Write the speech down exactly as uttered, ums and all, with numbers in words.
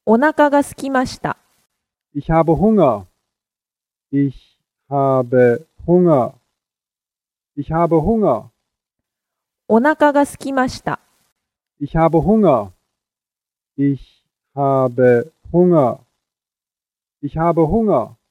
お腹が空きました。 Ich habe Hunger. Ich habe Hunger. Ich habe Hunger. お腹が空きました。 Ich habe Hunger. Ich habe Hunger. Ich habe Hunger.